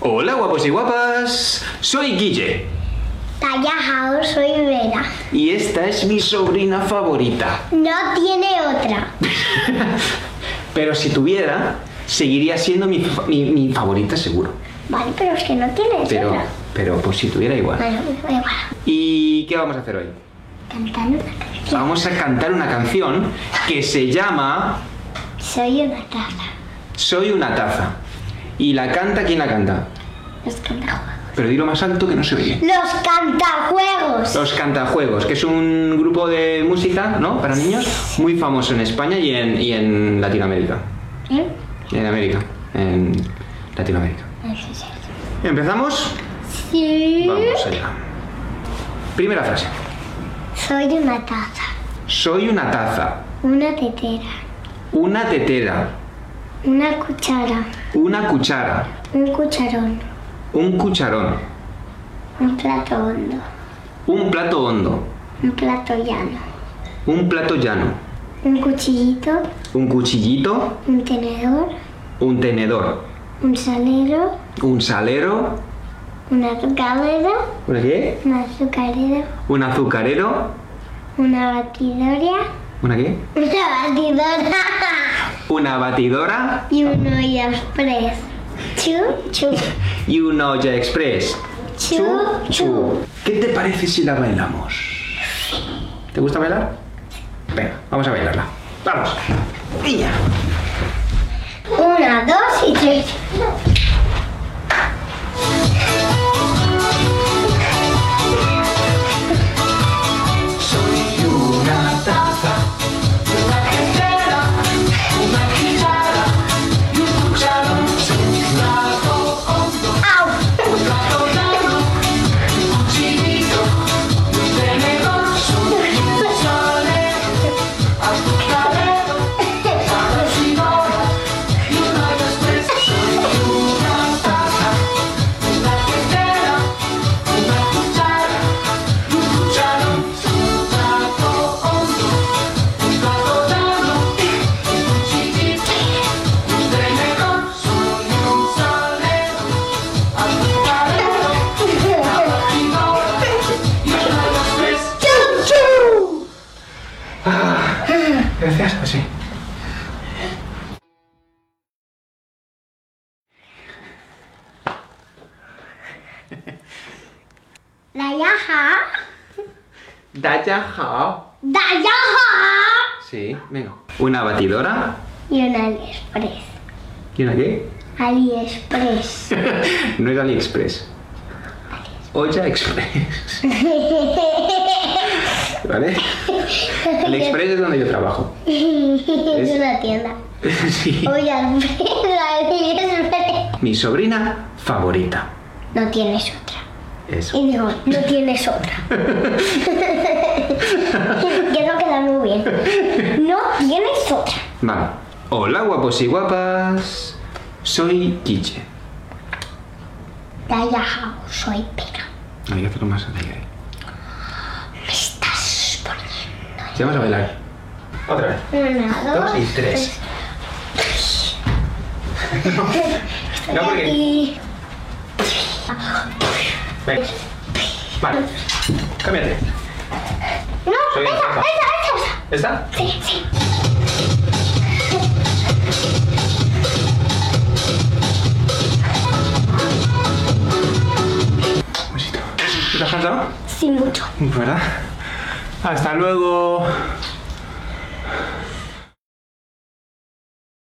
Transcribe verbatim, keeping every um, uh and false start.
Hola guapos y guapas, soy Guille. Tallajao, soy Vera. Y esta es mi sobrina favorita. No tiene otra. Pero si tuviera, seguiría siendo mi, mi, mi favorita seguro. Vale, pero es que no tiene Pero, otra. pero pues si tuviera igual. Bueno, da igual. ¿Y qué vamos a hacer hoy? Cantando una canción. Vamos a cantar una canción que se llama Soy una taza. Soy una taza. ¿Y la canta quién la canta? Los cantajuegos. Pero dilo más alto que no se oye. Los cantajuegos. Los Cantajuegos, que es un grupo de música, ¿no? Para niños, muy famoso en España y en, y en Latinoamérica. ¿Eh? En América, en Latinoamérica. ¿Empezamos? Sí. Vamos allá. Primera frase. Soy una taza. Soy una taza, Una tetera. una tetera, Una cuchara. una cuchara, Un cucharón. un cucharón, Un plato hondo. un plato hondo, Un plato llano. un plato llano, Un cuchillito. un cuchillito, Un tenedor. un tenedor, Un salero. un salero, Una azucarera. ¿una qué? Una azucarera. Un azucarero, Una batidora. ¿una qué? Una batidora. Una batidora Y un olla express. Chu, chu. y un olla express. Chu, chu. ¿Qué te parece si la bailamos? ¿Te gusta bailar? Venga, vamos a bailarla. Vamos. Niña. Una, dos y tres. Soy una taza, una tetera, una cuchara y un cucharón. Soy un plato hondo, ¡Au! un plato llano, un cuchillito, un tenedor. Soy un salero, azucarero, una batidora y un olla express. Soy una taza, una tetera, una cuchara y un cucharón. Soy un plato hondo, un plato llano, un cuchillito, un tenedor. Soy un salero, azucarero, una batidora y un olla express. ¡Chu, chu! Ah, gracias, así. Dayaja. Daya hao. Dayaja. Sí, venga. Una batidora. Y un AliExpress. ¿Y una qué? AliExpress. No es AliExpress. Olla Express. ¿Vale? AliExpress es donde yo trabajo. Es una tienda. Sí. Oye, AliExpress. Mi sobrina favorita. No tienes otra. Eso. Y digo, no tienes otra. Quiero quedar muy bien. No tienes otra. Vale. Hola guapos y guapas. Soy Guille. Dayaja, soy Pera. Hay que hacerlo más alegre. Me estás poniendo. Sí, vamos a bailar. Otra vez. Una, dos, Dos y tres. No, no porque... Y... Venga. Vale. Cámbiate. No, Soy esa, una taza. esa, esa, esa. ¿Esta? Sí, sí. Un besito. ¿Te has cansado? Sí, mucho. ¿Verdad? Hasta luego.